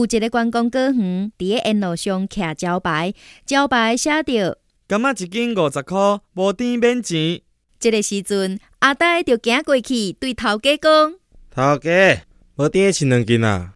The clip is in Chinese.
有一个观光果园，伫个沿路上徛招牌，招牌写着感觉一斤50块，无甜免钱。 这个时阵，阿呆就行过去，对头家讲： 头家，无甜的是2斤啊。